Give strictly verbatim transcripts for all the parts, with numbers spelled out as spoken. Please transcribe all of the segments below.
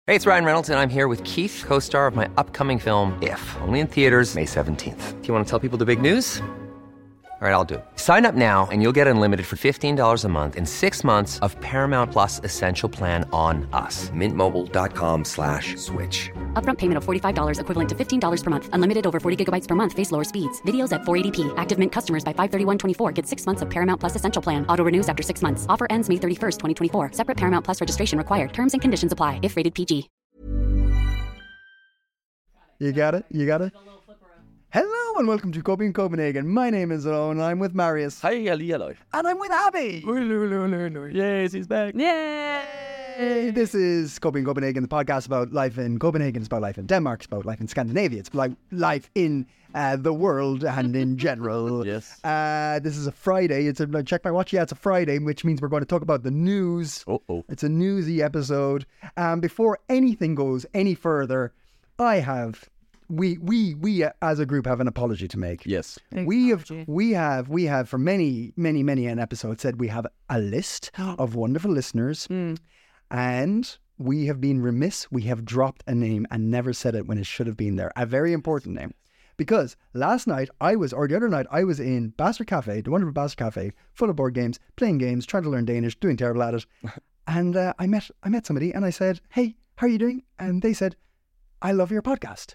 Hey, it's Ryan Reynolds, and I'm here with Keith, co-star of my upcoming film, If, only in theaters May seventeenth. Do you want to tell people the big news? All right, I'll do it. Sign up now and you'll get unlimited for fifteen dollars a month and six months of Paramount Plus Essential Plan on us. Mint Mobile dot com slash switch. Upfront payment of forty-five dollars equivalent to fifteen dollars per month. Unlimited over forty gigabytes per month. Face lower speeds. Videos at four eighty p. Active Mint customers by five thirty-one twenty-four get six months of Paramount Plus Essential Plan. Auto renews after six months. Offer ends May thirty-first, twenty twenty-four. Separate Paramount Plus registration required. Terms and conditions apply if rated P G. You got it? You got it? Hello and welcome to Coping Copenhagen. My name is Owen. I'm with Marius. Hi, hello. And I'm with Abby. Yes, he's back. Yay! This is Coping Copenhagen, the podcast about life in Copenhagen. It's about life in Denmark. It's about life in Scandinavia. It's like life in uh, the world and in general. Yes. Uh, this is a Friday. It's a check my watch. Yeah, it's a Friday, which means we're going to talk about the news. Uh-oh. It's a newsy episode. Um, before anything goes any further, I have, we we we uh, as a group have an apology to make. Yes. We have we have we have for many many many an episode said we have a list of wonderful listeners, Mm. and we have been remiss. We have dropped a name and never said it when it should have been there. A very important name, because last night I was, or the other night I was in Bastard Cafe, the wonderful Bastard Cafe, full of board games, playing games, trying to learn Danish, doing terrible at it, and uh, I met I met somebody and I said, "Hey, how are you doing?" And they said, "I love your podcast."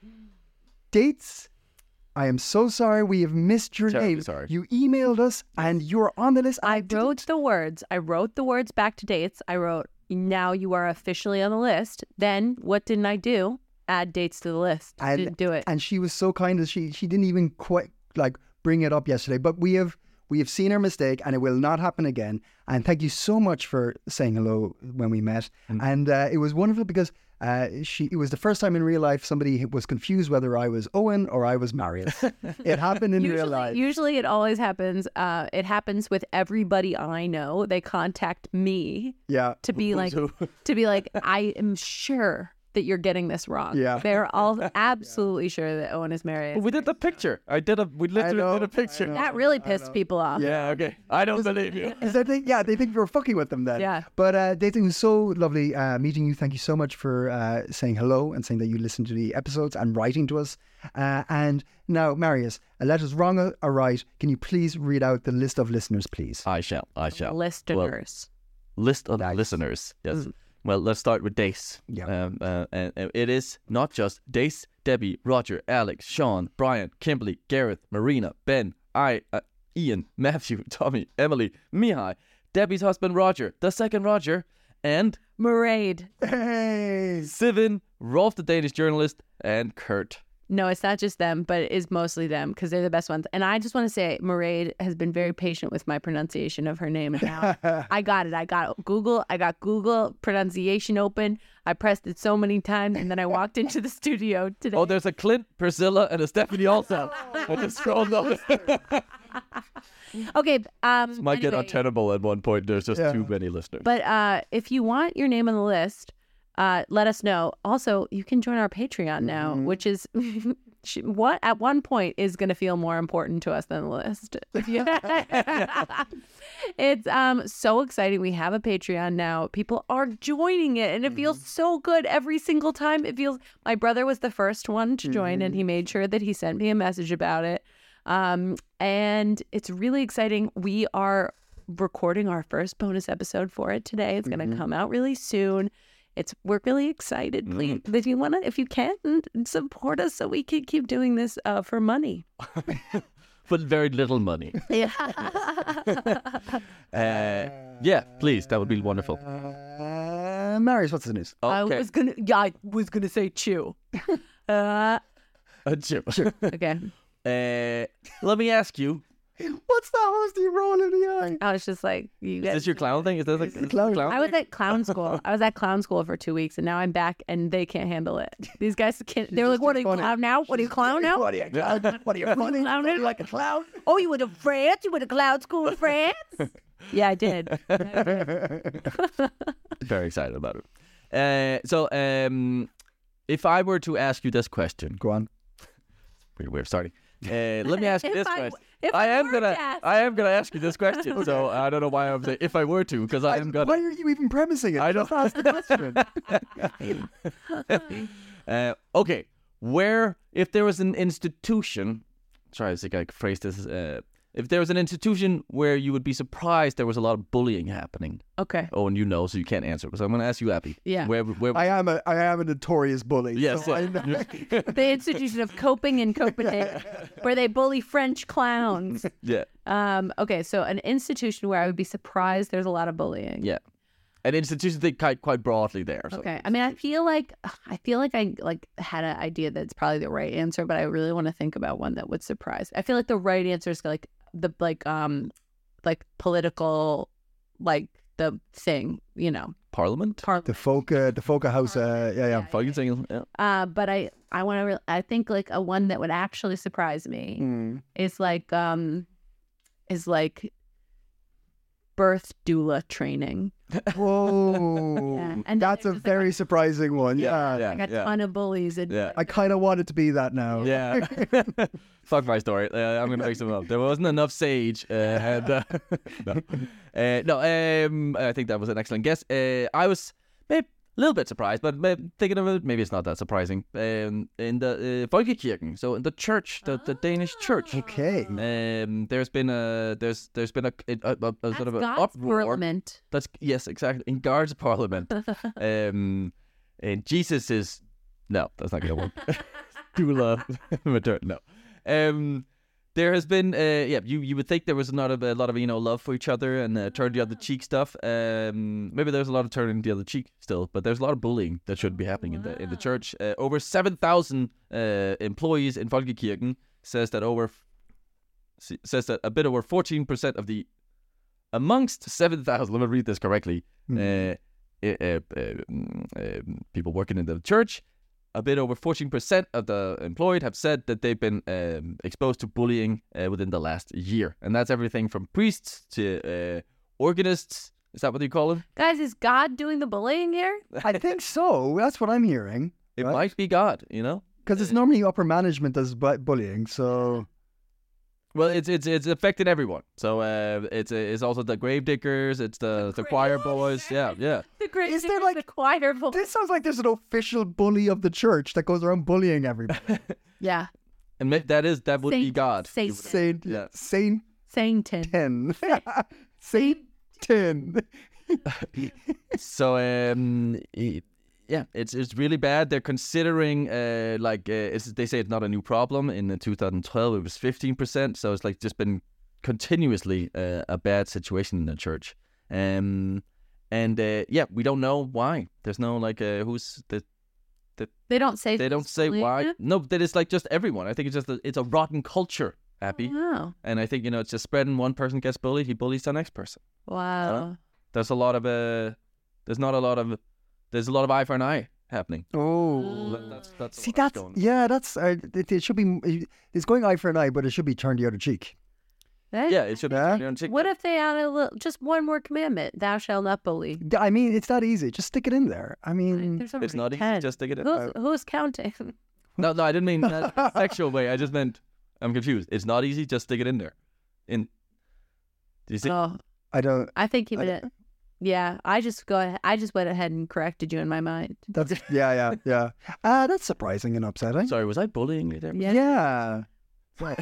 Dates, I am so sorry we have missed your Terribly name. sorry. You emailed us and you're on the list. I didn't- wrote the words. I wrote the words back to dates. I wrote, now you are officially on the list. Then what didn't I do? Add dates to the list. and, didn't do it. And she was so kind that she she didn't even quite like bring it up yesterday. But we have we have seen our mistake and it will not happen again. And thank you so much for saying hello when we met. Mm. And uh, it was wonderful because uh, she it was the first time in real life somebody was confused whether I was Owen or I was Marius. It happened in usually, real life. Usually it always happens. Uh, it happens with everybody I know. They contact me Yeah. to be like, to be like, I am sure that you're getting this wrong. Yeah. They're all absolutely sure that Owen is married. We did the picture. I did a. We literally know, did a picture. I know. That really pissed people off. Yeah. Okay. I don't believe you. Is that they, yeah, they think we were fucking with them then. Yeah. But uh, they think it was so lovely uh, meeting you. Thank you so much for uh, saying hello and saying that you listen to the episodes and writing to us. Uh, and now, Marius, uh, let us wrong or- or right. Can you please read out the list of listeners, please? I shall. I shall. Listeners. Well, list of Nice. listeners. Yes. Mm. Well, let's start with Dace. Yeah. Um, uh, and, and it is not just Dace, Debbie, Roger, Alex, Sean, Brian, Kimberly, Gareth, Marina, Ben, I, uh, Ian, Matthew, Tommy, Emily, Mihai, Debbie's husband Roger, the second Roger, and Mairead. Hey! Sivin, Rolf the Danish journalist, and Kurt. No, it's not just them, but it is mostly them because they're the best ones. And I just want to say, Mairead has been very patient with my pronunciation of her name. And now I got it. I got Google. I got Google pronunciation open. I pressed it so many times, and then I walked into the studio today. Oh, there's a Clint, Priscilla, and a Stephanie also. I just scrolled up. Okay. Um, Might get anyway, untenable at one point. There's just Yeah. too many listeners. But uh, if you want your name on the list, uh, let us know. Also, you can join our Patreon now, Mm-hmm. which is sh- what at one point is going to feel more important to us than the list. It's um so exciting. We have a Patreon now. People are joining it, and it feels Mm-hmm. so good every single time. It feels. My brother was the first one to join, and Mm-hmm. he made sure that he sent me a message about it. Um, and it's really exciting. We are recording our first bonus episode for it today. It's going to come out really soon. It's we're really excited. Please, if you want to, if you can, support us so we can keep doing this uh, for money. For very little money. Yeah. Uh, yeah, please. That would be wonderful. Uh, Marius, what's the news? I Okay. was gonna. Yeah, I was gonna say chew. uh, Uh, Jim. okay. Uh, let me ask you. What's that hosty roll in the eye? I was just like, you Is guys. this your clown thing? Is this like is this clown? clown I was thing? at clown school. I was at clown school for two weeks, and now I'm back, and they can't handle it. These guys can't. They were like, "What are you funny. clown now? What are you clown now? What are you, clown? What are you funny? Clown it? like a clown? Oh, you went to France? You went to clown school in France? Yeah, I did. Very excited about it. Uh, so, um, if I were to ask you this question, Go on. weird way of starting. Uh, let me ask you If this I- question. if I I am were gonna, to ask I am gonna ask you this question. So I don't know why I'm saying if I were to, because I am Why gonna. are you even premising it? I don't- Just ask the question. uh, okay, where if there was an institution, sorry, I think I could phrase this. Uh, if there was an institution where you would be surprised there was a lot of bullying happening. Okay. Oh, and you know, so you can't answer. So I'm gonna ask you, Abby. Yeah. Where, where? I am a I am a notorious bully. Yes, so yeah. I know. The Institution of Coping in Copenhagen, where they bully French clowns. yeah, Um, okay, so an institution where I would be surprised there's a lot of bullying. yeah. An institution think quite quite broadly there. So. Okay. I mean, I feel like I feel like I like had an idea that's probably the right answer, but I really want to think about one that would surprise. I feel like the right answer is like the like um like political like the thing, you know. Parliament. Par- The Foca, the Foca House. Uh, yeah, yeah. Fucking single. Yeah. uh, but I I want to. Re- I think like a one that would actually surprise me Mm. is like um is like birth doula training. Whoa, Yeah, and then that's a there's just, like, very surprising one. Yeah, yeah. Like a ton of bullies and Yeah. I kind of want it to be that now. Yeah. Fuck my story. Uh, I'm gonna make some up. There wasn't enough sage. Uh, and, uh, no, uh, no. Um, I think that was an excellent guess. Uh, I was maybe a little bit surprised, but maybe thinking of it, maybe it's not that surprising. Um, in the uh, Folkekirken, so in the church, the, the Danish church. Okay. Um, there's been a there's there's been a, a, a, a That's sort of an God's uproar. parliament. That's yes, exactly in Guards Parliament. um, and Jesus is no, that's not gonna work. Doula, matern, no. Um, there has been, uh, yeah, you, you would think there was not a, a lot of, you know, love for each other and uh, turn the other cheek stuff. Um, maybe there's a lot of turning the other cheek still, but there's a lot of bullying that should be happening in the in the church. Uh, over seven thousand uh, employees in Folkekirken says that over f- says that a bit over fourteen percent of the amongst seven thousand. Let me read this correctly. Mm. Uh, uh, uh, um, um, people working in the church. A bit over fourteen percent of the employed have said that they've been um, exposed to bullying uh, within the last year. And that's everything from priests to uh, organists. Is that what you call them? Guys, is God doing the bullying here? I think so. That's what I'm hearing. It Right. might be God, you know? Because it's normally upper management that's bu- bullying. So Well, it's it's it's affecting everyone. So uh, it's it's also the grave diggers, it's the the, choir boys. Yeah, yeah. The great Is there, Diggers, like- the choir boy. this sounds like there's an official bully of the church that goes around bullying everybody. Yeah. And ma- that is that would be Saint- God. Saint- Saint Yeah. Saint Sainton. Ten. Saint Ten. So um, it- yeah, it's it's really bad. They're considering uh like uh, it's, they say it's not a new problem. In uh, two thousand twelve, it was fifteen percent. So it's like just been continuously uh, a bad situation in the church. Um, and uh, yeah, we don't know why. There's no like uh, who's the They don't say. they don't say bullying why. it? No, that is like just everyone. I think it's just a, it's a rotten culture, Abby. Wow. And I think you know it's just spreading. One person gets bullied, he bullies the next person. Wow. There's a lot of uh, there's not a lot of there's a lot of eye for an eye happening. Oh. That- That's that's See, what's that's going. yeah, that's uh, it, it should be. It's going eye for an eye, but it should be turned the other cheek. That- Yeah, it should Yeah. be on TikTok. What if they add a little, just one more commandment? Thou shalt not bully. I mean, it's that easy. Just stick it in there. I mean, There's It's already not easy. ten. Just to get it. Who's, who's counting? No, no, I didn't mean that sexual way. I just meant I'm confused. It's not easy. Just stick it in there. In. Do you see? Oh, I don't. I think he I did. Yeah, I just go. Ahead, I just went ahead and corrected you in my mind. That's yeah, yeah, yeah. Ah, that's surprising and upsetting. Sorry, was I bullying you there? Yeah. Yeah.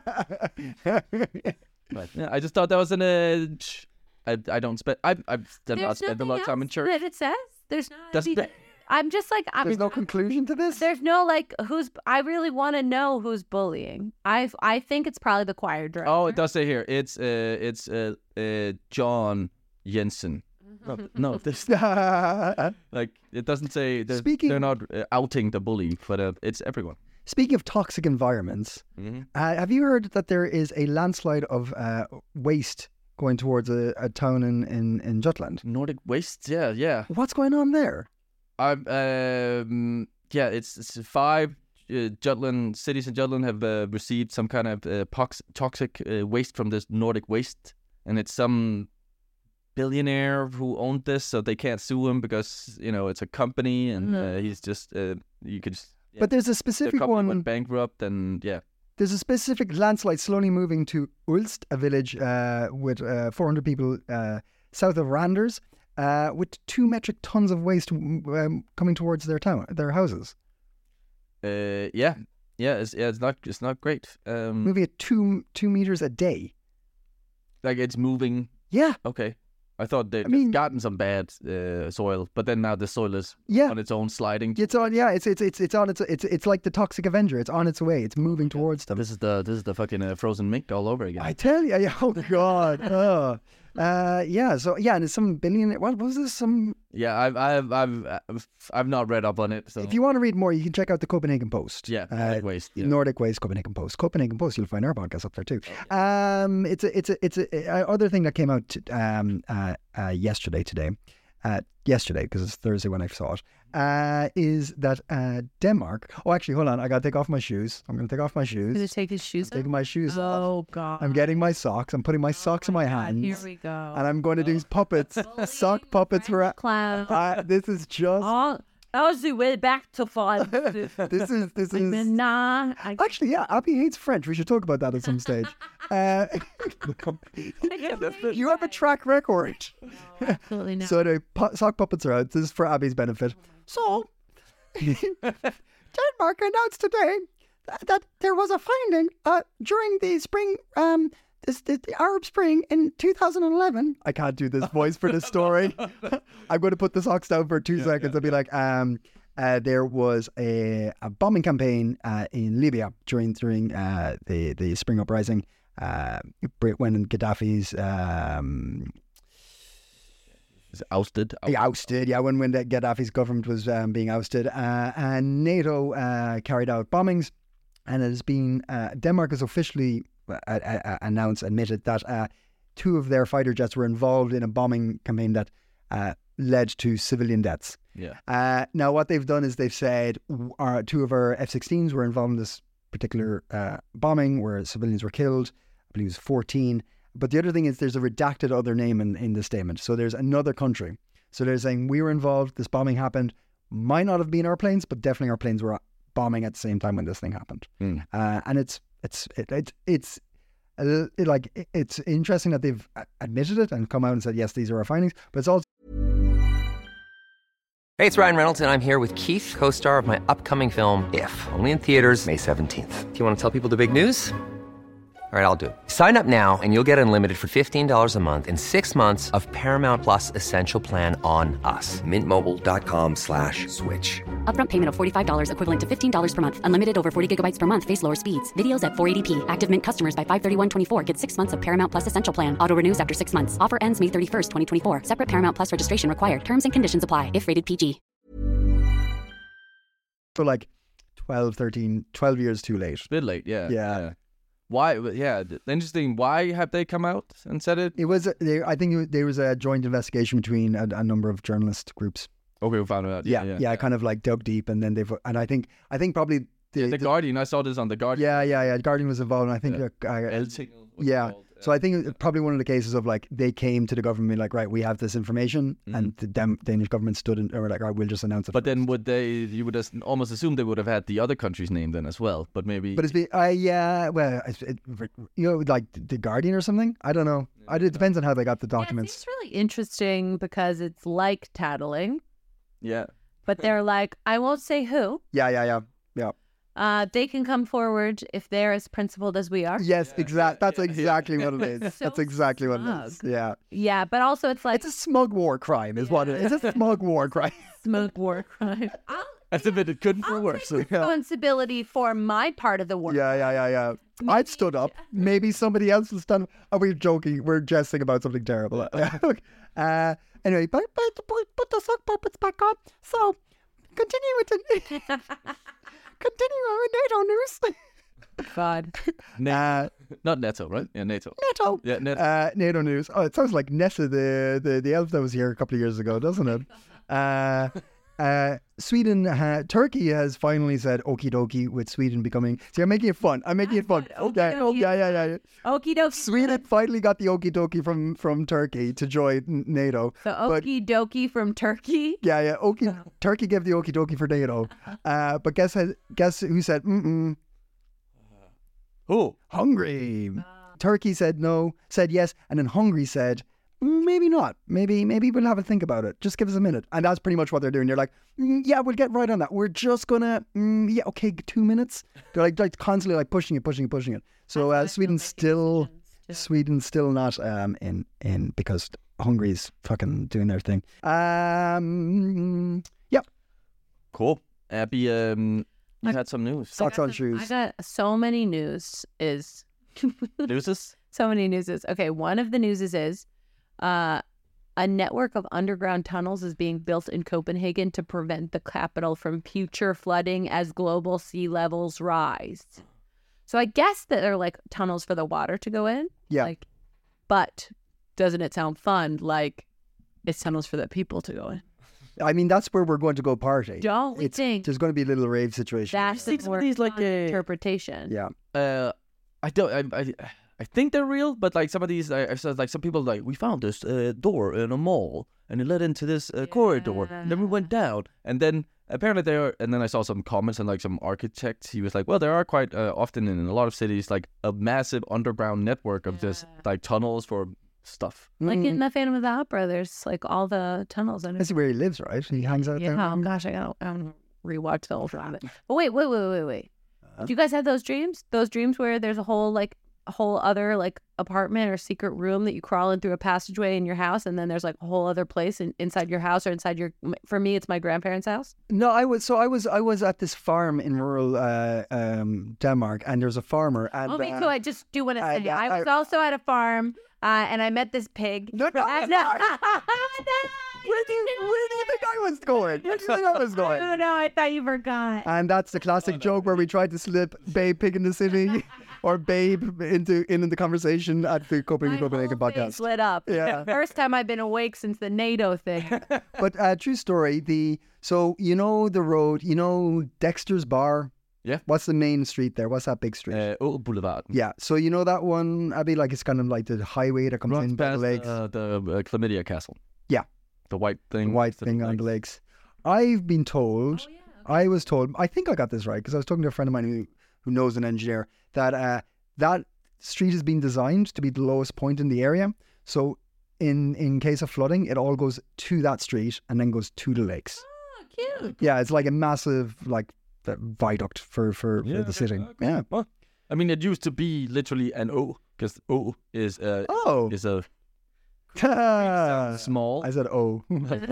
But, yeah, I just thought that was an. Uh, I I don't spend. I I've done not There's spent a nothing lot of time in else church. that it says. There's not. Doesn't the- it? I'm just like I'm. There's no conclusion to this. There's no like who's. I really want to know who's bullying. I I think it's probably the choir director. Oh, it does say here. It's uh it's uh, uh John Jensen. No, no, this like it doesn't say. They're, Speaking- they're not uh, outing the bully, but uh, it's everyone. Speaking of toxic environments, Mm-hmm. uh, have you heard that there is a landslide of uh, waste going towards a, a town in, in, in Jutland? Nordic Waste, yeah, yeah. What's going on there? I'm um yeah, it's, it's five uh, Jutland cities in Jutland have uh, received some kind of uh, pox- toxic uh, waste from this Nordic Waste, and it's some billionaire who owned this, so they can't sue him because you know it's a company, and uh, he's just uh, you could. Just, yeah, But there's a the specific company one. went bankrupt, and yeah, there's a specific landslide slowly moving to Ulst, a village uh, with uh, four hundred people uh, south of Randers, uh, with two metric tons of waste um, coming towards their town, their houses. Uh, yeah, yeah, it's yeah, it's not it's not great. Um, Moving at two two meters a day. like it's moving. Yeah, Okay, I thought they'd I mean- gotten some bad uh, soil, but then now the soil is yeah. on its own sliding. It's on. Yeah, it's it's it's it's on its. It's it's like the Toxic Avenger. It's on its way. It's moving towards them. This is the this is the fucking uh, frozen mink all over again. I tell you. Yeah, oh God. Oh. Uh, yeah. So yeah, and it's some billion. What was this? Some. Yeah, I've I've I've I've, I've not read up on it. So If you want to read more, you can check out the Copenhagen Post. yeah, Uh, Nordic waste. Yeah. Nordic Waste Copenhagen Post. Copenhagen Post. You'll find our podcast up there too. Um, it's a it's a it's a, a other thing that came out t- um uh, uh yesterday today, uh yesterday because it's Thursday when I saw it. Uh, is that uh Denmark? Oh, actually, hold on. I gotta take off my shoes. I'm gonna take off my shoes. Gonna take his shoes I'm taking my shoes off. Oh God. I'm getting my socks. I'm putting my socks in my hands. Here we go. And I'm going to do puppets, sock puppets for. Clown. Uh, this is just. Oh, that was the way back to five. This is this I is. mean, nah. I, Actually, yeah, Abby hates French. We should talk about that at some stage. Uh, you have a track record. absolutely not. So the pu- sock puppets are out. This is for Abby's benefit. So, Denmark announced today that, that there was a finding uh, during the spring, um, this, the, the Arab Spring in two thousand eleven. I can't do this voice for this story. I'm going to put the socks down for two seconds and be like, um, uh, there was a, a bombing campaign uh, in Libya during during uh, the the spring uprising. Uh, when Gaddafi's um, It's ousted. he ousted, yeah, when when the Gaddafi's government was um, being ousted, uh, and NATO uh, carried out bombings, and it has been uh, Denmark has officially uh, uh, announced, admitted that uh, two of their fighter jets were involved in a bombing campaign that uh, led to civilian deaths. Yeah. Uh, now, what they've done is they've said our two of our F sixteens were involved in this particular uh, bombing where civilians were killed. I believe it was fourteen. But the other thing is there's a redacted other name in, in the statement. So there's another country. So they're saying we were involved, this bombing happened. Might not have been our planes, but definitely our planes were bombing at the same time when this thing happened. Mm. Uh, and it's it's it, it, it's uh, it, like it, it's interesting that they've admitted it and come out and said, yes, these are our findings. But it's also Hey, it's Ryan Reynolds, and I'm here with Keith, co-star of my upcoming film, If, only in theaters May seventeenth. Do you want to tell people the big news? All right, I'll do it. Sign up now and you'll get unlimited for fifteen dollars a month and six months of Paramount Plus Essential Plan on us. Mint Mobile dot com slash switch. Upfront payment of forty-five dollars equivalent to fifteen dollars per month. Unlimited over forty gigabytes per month. Face lower speeds. Videos at four eighty p. Active Mint customers by five thirty-one twenty-four get six months of Paramount Plus Essential Plan. Auto renews after six months. Offer ends May thirty-first, twenty twenty-four. Separate Paramount Plus registration required. Terms and conditions apply if rated P G. for like twelve, thirteen, twelve years too late. A bit late, yeah. Yeah. Why? Yeah, th- interesting. Why have they come out and said it? It was, there, I think it, was- there was a joint investigation between a, a number of journalist groups. Okay, we found out. Yeah, Yeah, yeah, yeah. kind of like dug deep, and then they've, and I think, I think probably the, The Guardian. I saw this on the Guardian. yeah, yeah, yeah, Guardian was involved, and I think, Yeah. uh, uh, El Signal was yeah. called, So I think it's probably one of the cases of like they came to the government being like, right, we have this information, and the Dam- Danish government stood and were like, all right, we'll just announce it. Mm-hmm. But then would they? You would as- almost assume they would have had the other country's name then as well. But maybe. But it's been, uh, yeah, well, it's, it, you know, like the Guardian or something. I don't know. I, it depends on how they got the Yeah, documents. it's really interesting because it's like tattling, yeah. but they're like, I won't say who. Yeah, yeah, yeah, yeah. Uh, they can come forward if they're as principled as we are. Yes, exact. That's exactly what it is. So That's exactly what it is. smug. Yeah, Yeah, but also it's like it's a smug war crime, is what it is. It's a smug war crime. smoke war crime. I'll, As if it couldn't be I'll worse. take responsibility for my part of the work. Yeah, yeah, yeah, yeah. I'd stood up. Maybe somebody else will stand. Oh, we're joking. We're jesting about something terrible. uh, anyway, but, but, put, put the sock puppets back on. So, continue with the continue with NATO news. God. Uh, Not NATO, right? Yeah, NATO. NATO. Yeah, NATO. Uh, NATO news. Oh, it sounds like Nessa, the, the, the elf that was here a couple of years ago, doesn't it? Uh, uh, Sweden, uh, Turkey has finally said okie dokie with Sweden becoming. See, I'm making it fun. I'm making it fun. Okay. Oh, yeah, yeah, yeah, yeah. Okie dokie. Sweden finally got the okie dokie from, from Turkey to join N- NATO. The But okie dokie from Turkey. yeah, yeah. Okie, Turkey gave the okie dokie for NATO. Uh, but guess how- guess who said mm mm? Who? Hungary. Turkey said no, said yes, and then Hungary said, "Mm, maybe not. Maybe maybe we'll have a think about it. Just give us a minute." And that's pretty much what they're doing. They're like, mm, yeah, we'll get right on that. We're just gonna, mm, yeah, okay, two minutes. They're like, like constantly like pushing it, pushing it, pushing it. So uh, Sweden's still, Sweden's still not um in in because Hungary's fucking doing their thing. Um, yeah. Cool. Abby, um, you had some news. Socks on shoes. I got so many news is Newses? so many newses. Okay, one of the newses is uh, a network of underground tunnels is being built in Copenhagen to prevent the capital from future flooding as global sea levels rise. So I guess that they're like tunnels for the water to go in. Yeah. Like, but doesn't it sound fun? Like it's tunnels for the people to go in. I mean, that's where we're going to go party. Don't we It's, think there's going to be a little rave situation. that's the think some of more these, like, fun uh, interpretation? Yeah. Uh, I don't. I, I I think they're real, but like some of these, I, I said like some people like we found this uh, door in a mall and it led into this uh, corridor. And then we went down, and then apparently there. Are, and then I saw some comments and like some architects. He was like, well, there are quite uh, often in a lot of cities like a massive underground network of just like tunnels for stuff. Like in the Phantom of the Opera, there's like all the tunnels in it. That's where he lives, right? He hangs out Yeah, there. oh gosh, I gotta, I gotta rewatch the whole time. But wait, wait, wait, wait, wait. Do you guys have those dreams? Those dreams where there's a whole like a whole other like apartment or secret room that you crawl in through a passageway in your house, and then there's like a whole other place in, inside your house or inside your. For me, it's my grandparents' house. No, I was so I was I was at this farm in rural uh, um, Denmark, and there's a farmer. And Oh, me uh, too. I just do want to I- say I- I was also at a farm, uh, and I met this pig. No, no, Uh, no. Where do you where do you think I was going? Where do you think I was going? Oh no, I thought you forgot. And that's the classic joke where we tried to slip Babe Pig in the City or Babe into in, in the conversation at the Copenhagen, Copenhagen My whole face podcast. lit up. Yeah. First time I've been awake since the NATO thing. But uh, true story. The so you know the road. You know Dexter's Bar. Yeah. What's the main street there? What's that big street? Uh, oh, Boulevard. Yeah. So you know that one, Abby. Like it's kind of like the highway that comes Runs in by the past lakes. uh, the uh, Chlamydia Castle. Yeah. The white thing. The white to thing the on the lakes. lakes. I've been told, I was told, I think I got this right because I was talking to a friend of mine who, who knows an engineer, that uh, that street has been designed to be the lowest point in the area. So in, in case of flooding, it all goes to that street and then goes to the lakes. Oh, cute. Yeah, it's like a massive like uh, viaduct for, for, for the city. Yeah. Well, I mean, it used to be literally an O, because O is uh, Oh. is a I small. said, oh.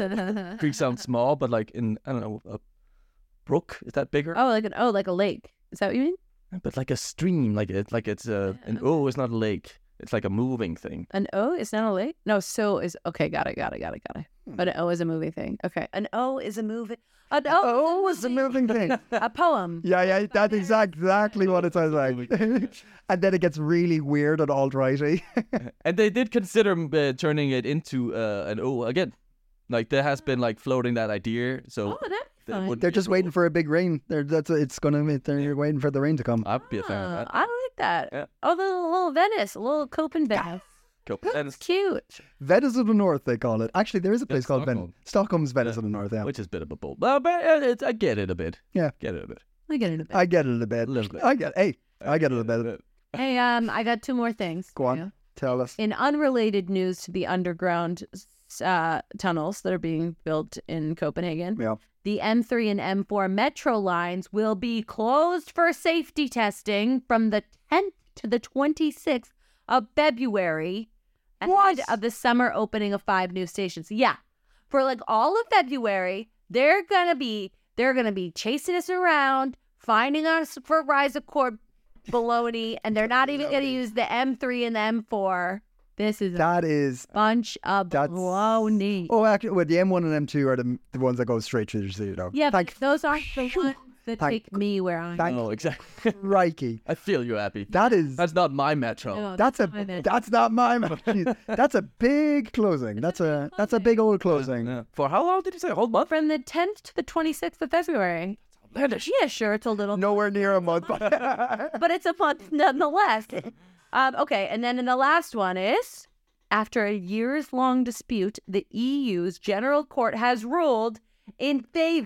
Creek sounds small, but like in I don't know, a brook is that bigger? Oh, like an oh, like a lake. Is that what you mean? But like a stream, like it, like it's a an O is not a lake. It's like a moving thing. An O is not a lake? No, so is okay, got it, got it, got it, got it. But an O is a moving thing. Okay. An O is a moving an O Oh, it's a moving thing. a poem. Yeah, yeah, that's exact, exactly what it sounds like. And then it gets really weird and alt-righty. And they did consider uh, turning it into uh, an O again. Like there has been like floating that idea. So Oh, that'd be that fun. would They're be just cool. waiting for a big rain. They're that's it's gonna they're waiting for the rain to come. I'd be a fan of Oh, that. I like that. Yeah. Oh, the little, little Venice, a little Copenhagen. Cool. And It's cute. Venice of the North, they call it. Actually, there is a place Yeah, called Stockholm. Venice. Stockholm's Venice of the North. Yeah, which is a bit of a bull. Well, but uh, it's, I get it a bit. Yeah. Get it a bit. I get it a bit. I get it a bit. A little bit. I get. Hey, I get it a bit. Hey, um, I got two more things. Go for on, you. tell us. In unrelated news to the underground uh, tunnels that are being built in Copenhagen, Yeah. the M three and M four metro lines will be closed for safety testing from the tenth to the twenty-sixth of February ahead of the summer opening of five new stations. Yeah. For like all of February, they're going to be they're going to be chasing us around, finding us for rise of court baloney, and they're not even going to use the M three and the M four. This is a That is. bunch of That's- baloney. Oh, actually, well, the M one and M two are the the ones that go straight through the city, though. Yeah, but Thank those aren't the ones that Thank- take me where I'm thank Oh, exactly. crikey. I feel you, Abby. That is. That's not my metro. No, That's a. my bad. That's not my. Jeez, that's a big closing. That's a. That's a big old closing. Yeah. For how long did you say? A whole month? From the tenth to the twenty-sixth of February. Outlandish. Yeah, sure, it's a little, Nowhere near a month. but it's a month nonetheless. Um, okay, and then in the last one is, after a years-long dispute, the E U's General Court has ruled in favor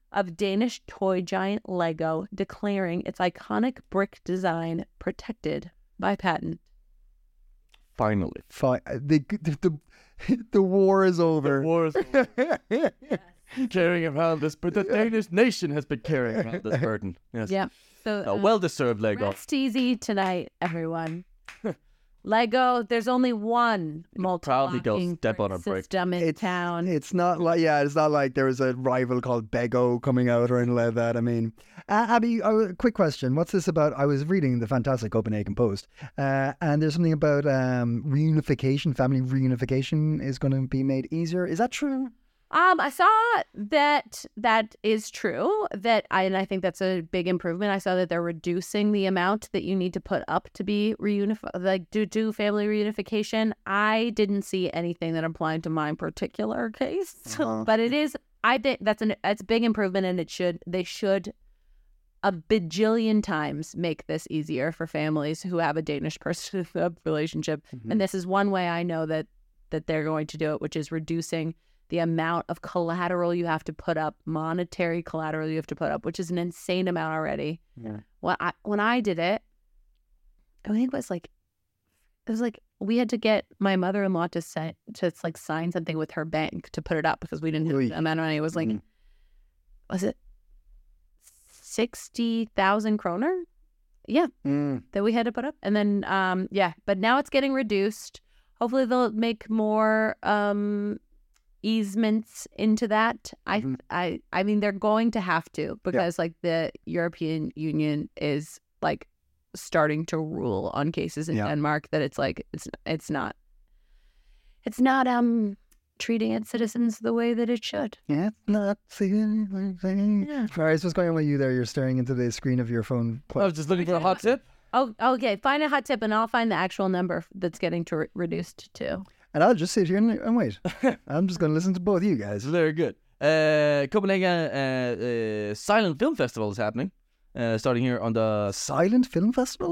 of Danish toy giant Lego, declaring its iconic brick design protected by patent. Finally. Fine. The, the, the, the war is over. The war is over. Carrying around this, but the Danish nation has been carrying around this burden. Yes. Yeah. So A uh, well-deserved Lego. rest easy tonight, everyone. Lego, there's only one Proudly go multi-locking step on a brick brick. system in It's, town. it's not like, yeah, it's not like there was a rival called Bego coming out or anything like that. I mean, uh, Abby, uh, quick question. What's this about? I was reading the fantastic Copenhagen Post, uh, and there's something about um, reunification, family reunification is going to be made easier. Is that true? Um, I saw that that is true. That I and I think that's a big improvement. I saw that they're reducing the amount that you need to put up to be reunified, like do do family reunification. I didn't see anything that applied to my particular case, Uh-huh. but it is. I think that's an it's a big improvement, and it should they should a bajillion times make this easier for families who have a Danish person relationship. Mm-hmm. And this is one way I know that that they're going to do it, which is reducing the amount of collateral you have to put up, monetary collateral you have to put up, which is an insane amount already. Yeah. When I, when I did it, I think it was like, it was like we had to get my mother-in-law to say, to like sign something with her bank to put it up because we didn't have Oy. the amount of money. It was like, Mhm. was it sixty thousand kroner? Yeah, Mm. that we had to put up. And then, um, yeah, but now it's getting reduced. Hopefully they'll make more um, easements into that. I, Mhm. I, I mean, they're going to have to because like the European Union is like starting to rule on cases in Yeah. Denmark that it's like it's it's not it's not um treating its citizens the way that it should. Yeah, not seeing anything. Yeah. Marius, what's going on with you there? You're staring into the screen of your phone. I was just looking for a hot tip. Oh, okay. Find a hot tip, and I'll find the actual number that's getting to re- reduced to. And I'll just sit here and, and wait. I'm just going to listen to both of you guys. Very good. Uh, Copenhagen uh, uh, Silent Film Festival is happening. Uh, starting here on the Silent Film Festival?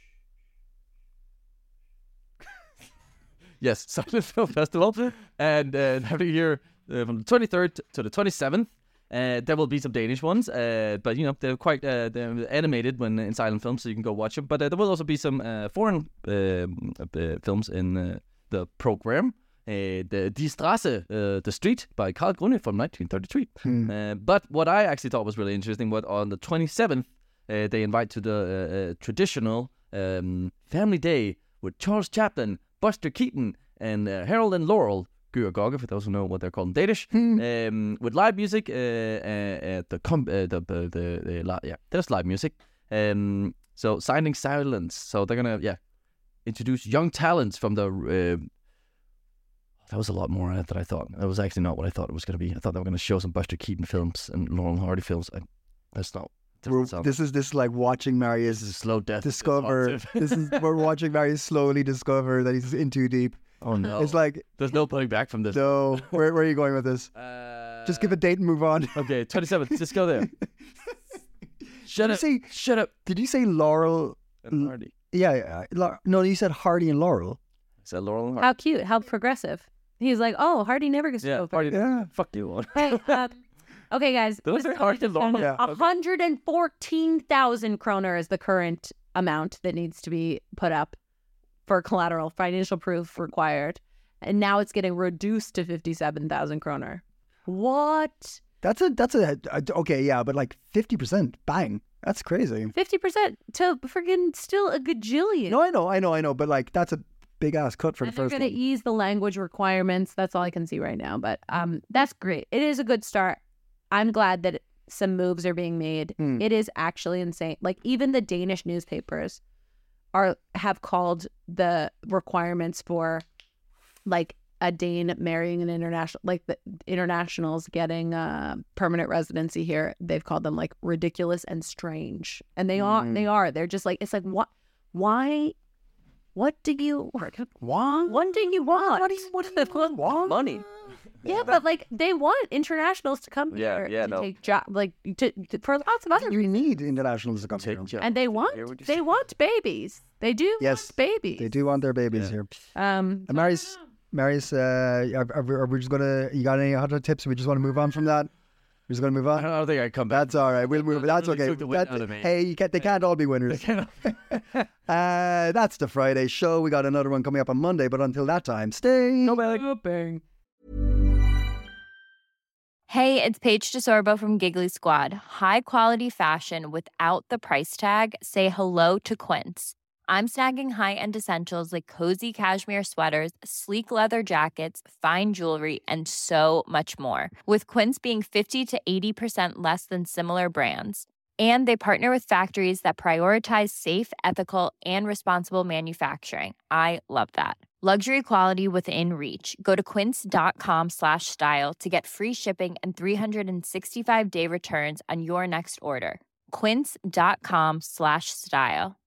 yes Silent Film Festival, and uh, happening here uh, from the twenty-third to the twenty-seventh. Uh, there will be some Danish ones, uh, but you know they're quite uh, they're animated when in silent film, so you can go watch them. But uh, there will also be some uh, foreign um, uh, films in uh, the program. Uh, the Die Straße, uh, The Street by Karl Grune from nineteen thirty-three. Hmm. Uh, but what I actually thought was really interesting was on the twenty-seventh, uh, they invite to the uh, uh, traditional um, family day with Charles Chaplin, Buster Keaton, and uh, Harold and Laurel. Gyr Gogge, for those who know what they're called in Danish, um, with live music uh, uh, at the com- uh, the the, the, the li- yeah, there's live music. Um, so signing silence. So they're gonna yeah introduce young talents from the. Uh, that was a lot more on it than I thought. That was actually not what I thought it was gonna be. I thought they were gonna show some Buster Keaton films and Laurel and Hardy films. I, that's not. We're, doesn't sound- this is this is like watching Marius this is slow death. discover. this is we're watching Marius slowly discover that he's in too deep. Oh no! It's like, there's no pulling back from this. no, where, where are you going with this? Uh, Just give a date and move on. Okay, twenty-seventh. Just go there. Shut Did you up! say- Shut up! Did you say Laurel? And Hardy. Yeah, yeah. Lau- no, you said Hardy and Laurel. Is that Laurel and Hardy? How cute! How progressive! He's like, oh, Hardy never gets to Yeah, go first. Hardy. Yeah. Fuck you. Hey, um, okay, guys. Those this are hard to learn. Yeah. A hundred and fourteen thousand kroner is the current amount that needs to be put up for collateral, financial proof required, and now it's getting reduced to fifty-seven thousand kroner. What? That's a that's a, a okay, yeah, but like fifty percent, bang, that's crazy. Fifty percent to friggin' still a gajillion. No, I know, I know, I know, but like that's a big ass cut for and the they're first going to one. ease the language requirements. That's all I can see right now. But um, that's great. It is a good start. I'm glad that some moves are being made. Hmm. It is actually insane. Like even the Danish newspapers are have called the requirements for like a Dane marrying an international, like the internationals getting uh, permanent residency here. They've called them like ridiculous and strange. And they are. Hmm. They are. They're just like, it's like, what? Why? What do you What? What do you want? What do you- what do you want? Money. Yeah, but like they want internationals to come Yeah, here yeah, to no. take job, like to, to for lots of other You reasons. need internationals to come Take here. job. And they want Hear what you they say. want babies. They do Yes, want babies. They do want their babies Yeah. here. Um, And Marius, Marius, uh, are, are, we- are we just gonna? You got any hot tips? We just want to move on from that. We're just going to move I on. don't think I come back. That's all right. We'll move. That's really okay. took the wind That's- out of me. hey, you can't, they can't all be winners. uh, that's the Friday show. We got another one coming up on Monday, but until that time, stay. No bang. Hey, it's Paige DeSorbo from Giggly Squad. High quality fashion without the price tag. Say hello to Quince. I'm snagging high-end essentials like cozy cashmere sweaters, sleek leather jackets, fine jewelry, and so much more. With Quince being fifty to eighty percent less than similar brands. And they partner with factories that prioritize safe, ethical, and responsible manufacturing. I love that. Luxury quality within reach. Go to quince.com slash style to get free shipping and three sixty-five day returns on your next order. Quince.com slash style.